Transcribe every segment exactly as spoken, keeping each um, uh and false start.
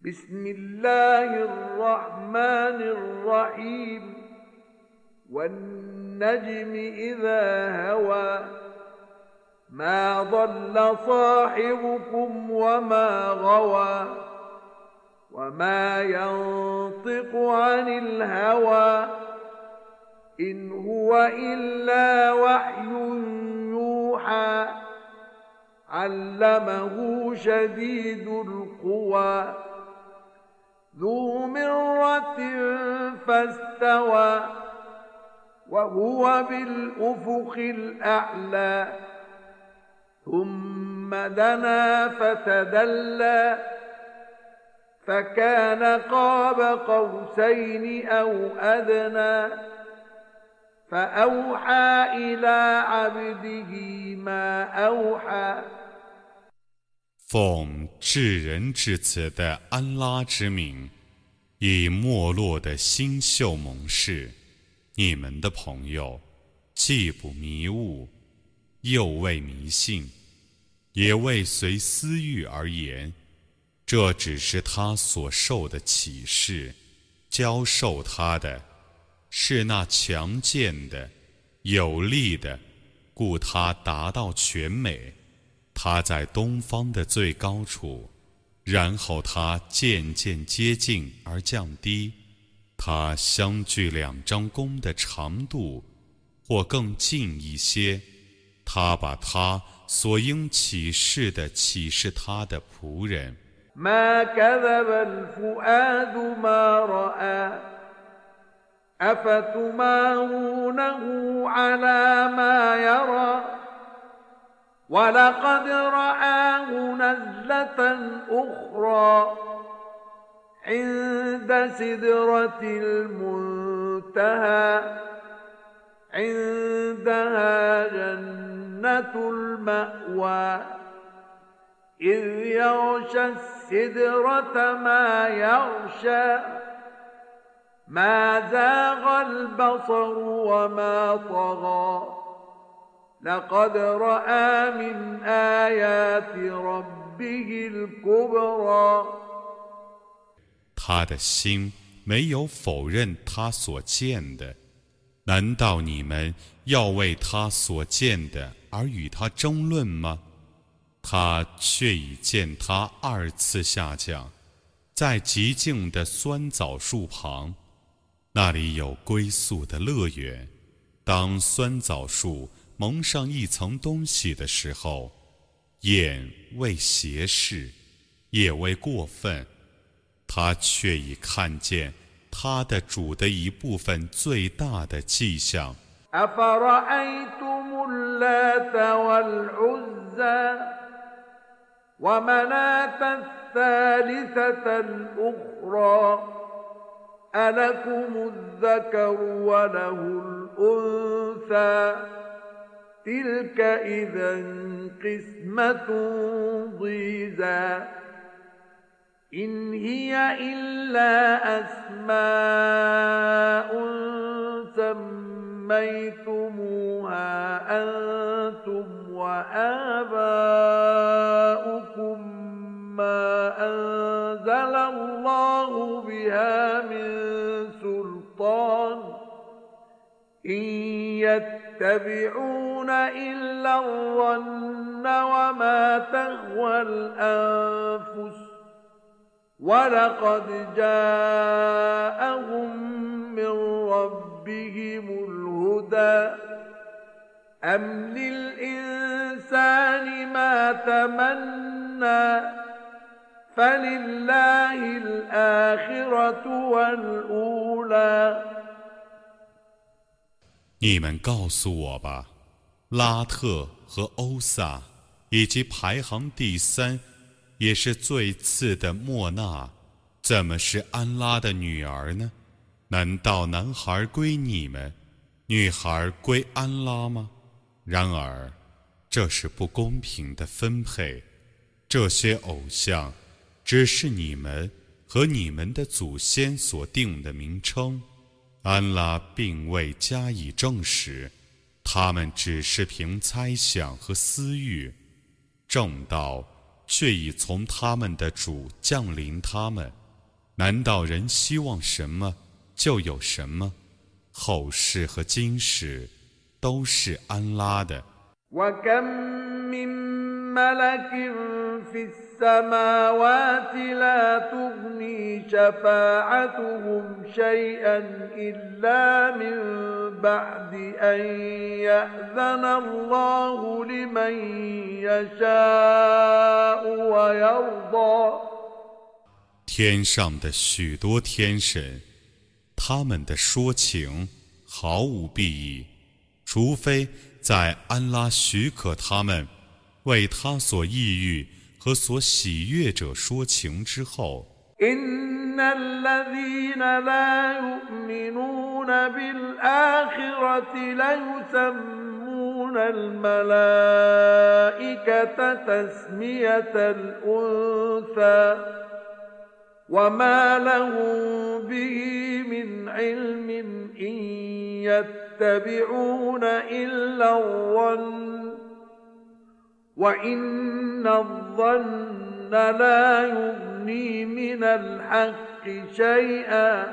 بسم الله الرحمن الرحيم والنجم إذا هوى ما ضل صاحبكم وما غوى وما ينطق عن الهوى إن هو إلا وحي يوحى علمه شديد القوى ذو مرة فاستوى وهو بالأفق الأعلى ثم دنا فتدلى فكان قاب قوسين أو أدنى فأوحى إلى عبده ما أوحى 奉至仁至慈的安拉之名，以没落的星宿盟誓，你们的朋友既不迷雾，又未迷信，也未随私欲而言，这只是他所受的启示，教授他的是那强健的、有力的，故他达到全美。他在东方的最高处，然后他渐渐接近而降低，他相距两张弓的长度，或更近一些。他把他所应启示的启示他的仆人。 ما كذب الفؤاد ما رأى أفتمارونه على ما يرى ولقد رآه نزلة أخرى عند سدرة المنتهى عندها جنة المأوى إذ يغشى السدرة ما يغشى ما زاغ البصر وما طغى لقد رأى من آيات ربه الكبرى 他的心没有否认他所见的，难道你们要为他所见的而与他争论吗？他却已见他二次下降，在极静的酸枣树旁，那里有归宿的乐园。当酸枣树蒙上一层东西的时候，眼未斜视，也未过分，他却已看见他的主的一部分最大的迹象。 أفرأيتم اللات والعزى ومناة الثالثة الأخرى ألكم الذكر وله الأنثى تلك إذا قسمة ضيزى إن هي إلا أسماء سميتموها أنتم وآباؤكم ما أنزل الله بها من سلطان إن يتبعون إلا الظن وما تهوى الأنفس ولقد جاءهم من ربهم الهدى أم للإنسان ما تمنى فلله الآخرة والأولى 你们告诉我吧，拉特和欧萨，以及排行第三也是最次的莫纳，怎么是安拉的女儿呢？难道男孩归你们，女孩归安拉吗？然而这是不公平的分配，这些偶像只是你们和你们的祖先所定的名称，安拉并未加以证实，他们只是凭猜想和私欲，正道却已从他们的主降临他们。 难道人希望什么就有什么？后世和今世都是安拉的。 وكم من ملك في السماوات لا تغني شفاعتهم شيئا إلا من بعد أن يأذن الله لمن يشاء ويرضى。 天上的许多天神，他们的说情毫无裨益，除非在安拉许可他们为他所抑郁和所喜悦者说情之后。 إن الذين لا يؤمنون بالآخرة ليسمون الملائكة تسمية الأنثى وما لهم به من علم إن يتبعون إلا الظن وإن الظن لا يغني من الحق شيئا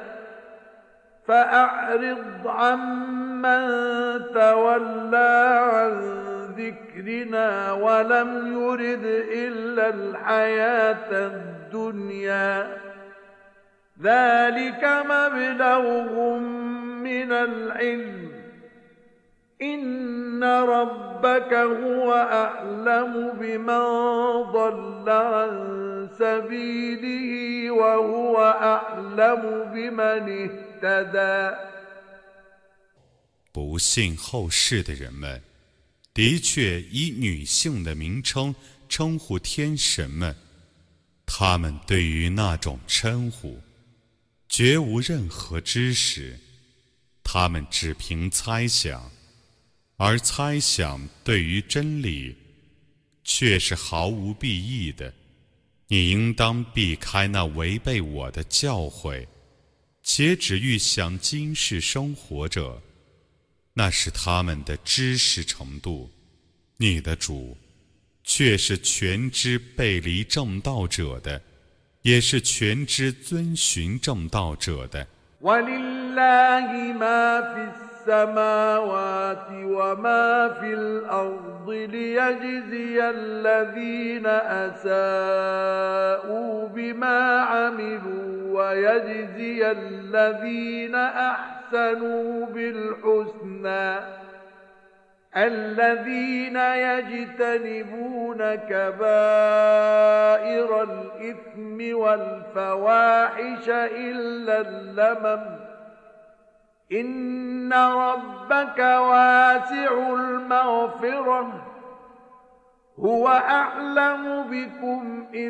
فأعرض عمن تولى عن ذكرنا ولم يرد إلا الحياة الدنيا ذلك مبلغهم من العلم إن ربك هو أعلم بمن ضل عن سبيله وهو أعلم بمن اهتدى。 不信后世的人们，的确以女性的名称称呼天神们，他们对于那种称呼绝无任何知识，他们只凭猜想，而猜想对于真理却是毫无裨益的。你应当避开那违背我的教诲，且只欲享今世生活者，那是他们的知识程度。你的主却是全知背离正道者的，也是全知遵循正道者的。 وَلِلَّهِ مَا فِي السَّمَاوَاتِ وَمَا فِي الْأَرْضِ لِيَجْزِيَ الَّذِينَ أَسَاءُوا بِمَا عَمِلُوا وَيَجْزِيَ الَّذِينَ أَحْسَنُوا بِالْحُسْنَى الذين يجتنبون كبائر الإثم والفواحش إلا اللمم إن ربك واسع المغفرة هو أعلم بكم إذ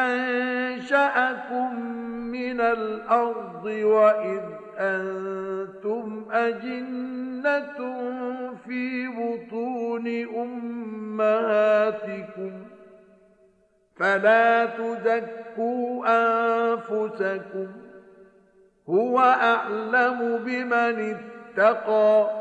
أنشأكم من الأرض وإذ أنتم أجنة في بطون أمهاتكم فلا تزكوا أنفسكم هو أعلم بمن اتقى。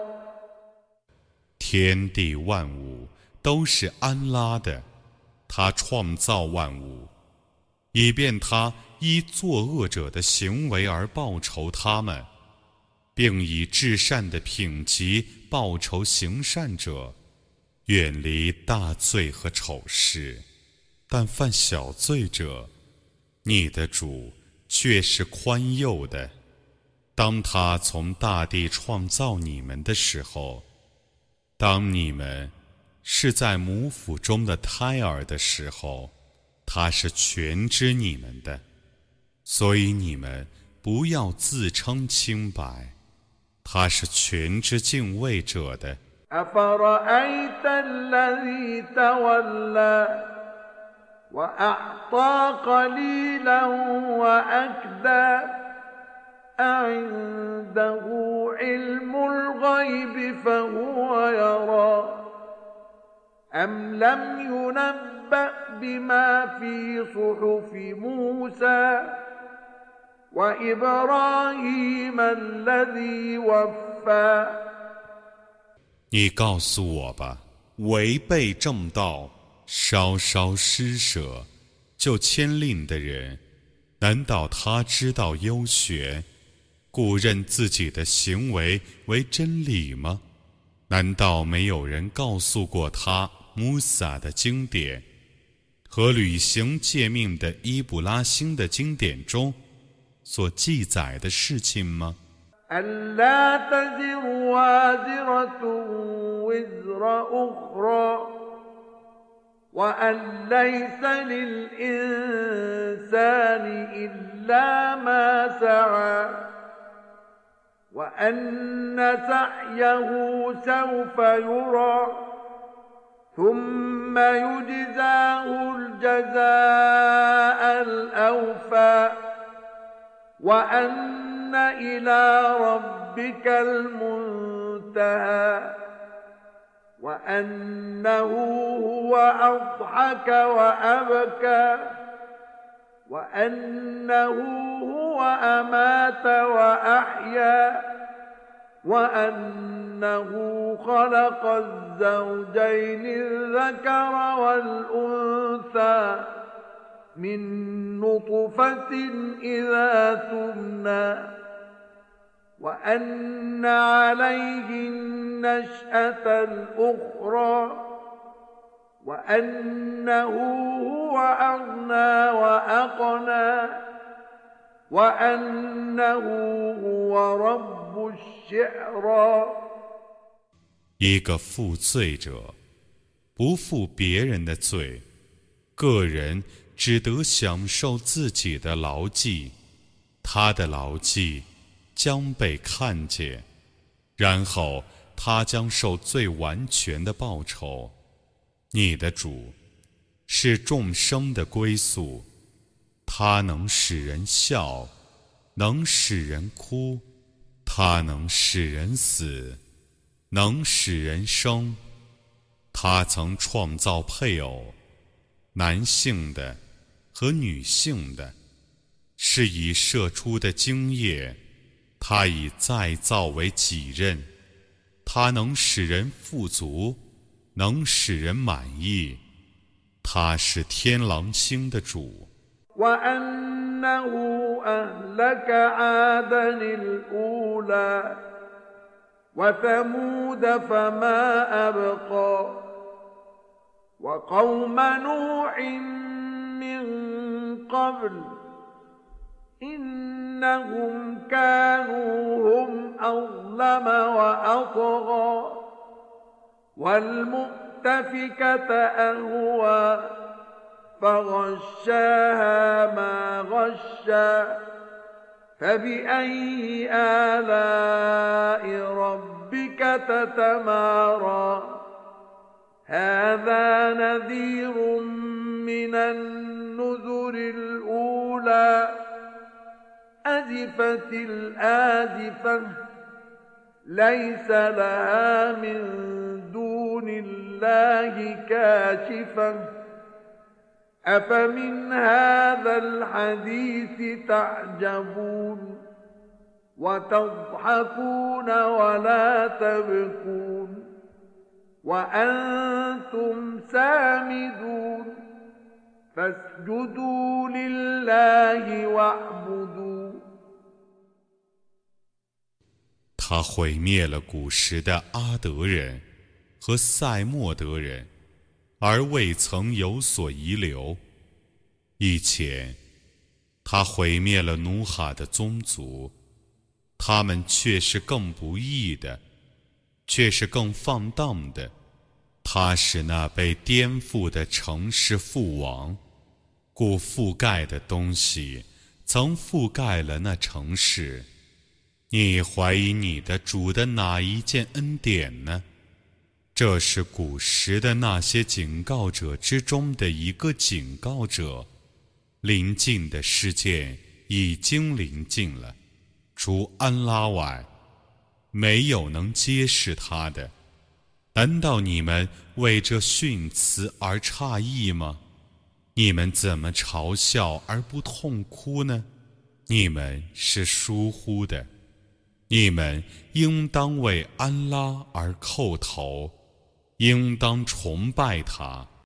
天地万物都是安拉的，他创造万物，以便他依作恶者的行为而报酬他们，并以至善的品级报酬行善者，远离大罪和丑事。但犯小罪者，你的主却是宽宥的。当他从大地创造你们的时候，当你们是在母腹中的胎儿的时候，他是全知你们的，所以你们不要自称清白，他是全知敬畏者的。 أفرأيت الذي تولى وأعطى قليلا وأكدى أعنده علم الغيب فهو يرى أم لم ينبأ بما في صحف موسى وإبراهيم الذي وفى。 你告诉我吧，违背正道、稍稍施舍就牵令的人， 难道他知道优学，故认自己的行为为真理吗？难道没有人告诉过他穆萨的经典和履行诫命的伊布拉欣的经典中所记载的事情吗？ ألا تزر وازرة وزر أخرى وأن ليس للإنسان إلا ما سعى وأن سعيه سوف يرى ثم يجزاه الجزاء الأوفى وأن إلى ربك المنتهى وأنه هو أضحك وأبكى وأنه هو أمات وأحيا وأنه خلق الزوجين الذكر والأنثى من نطفة إذا تمنى وأن عليه النشأة الأخرى وأنه هو أغنى وأقنى وأنه هو رب الشعرى 一个负罪者不负别人的罪，个人只得享受自己的劳绩，他的劳绩将被看见，然后他将受最完全的报酬。你的主是众生的归宿，他能使人笑，能使人哭，他能使人死，能使人生。他曾创造配偶，男性的和女性的，是以射出的精液，他以再造为己任。他能使人富足，能使人满意。他是天狼星的主。 وأنه أهلك عادا الأولى وثمود فما أبقى وقوم نوح من قبل إنهم كانوا هم أظلم وأطغى والمؤتفكة أهوى فغشاها ما غشى فبأي آلاء ربك تتمارى هذا نذير من النذر الأولى أزفت الآزفة ليس لها من دون الله كاشفة أفمن هذا الحديث تعجبون وتضحكون ولا تبكون وأنتم سامدون فاسجدوا لله واعبدوا 他毁灭了古时的阿德人和塞莫德人，而未曾有所遗留。以前，他毁灭了努哈的宗族，他们却是更不义的，却是更放荡的。他使那被颠覆的城市覆亡，故覆盖的东西曾覆盖了那城市。你怀疑你的主的哪一件恩典呢？这是古时的那些警告者之中的一个警告者。临近的事件已经临近了，除安拉外，没有能揭示他的。难道你们为这训词而诧异吗？你们怎么嘲笑而不痛哭呢？你们是疏忽的。你们应当为安拉而叩头，应当崇拜他。